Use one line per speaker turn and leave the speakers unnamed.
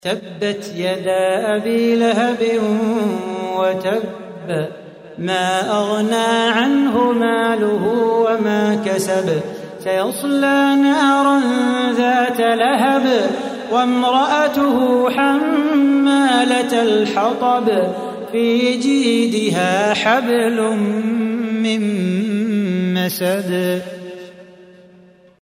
تبت يدا أبي لهب وتب ما أغنى عنه ماله وما كسب سيصلى نارا ذات لهب وامرأته حمالة الحطب في جيدها حبل من مسد